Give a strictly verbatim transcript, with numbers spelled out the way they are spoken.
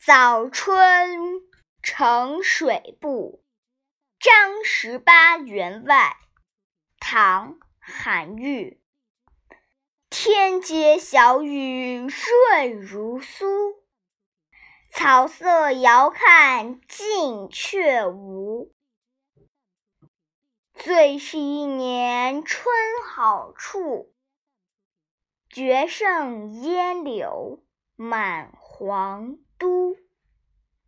早春呈水部，张十八员外。唐·韩愈。天街小雨润如酥，草色遥看近却无。最是一年春好处，绝胜烟柳满皇都。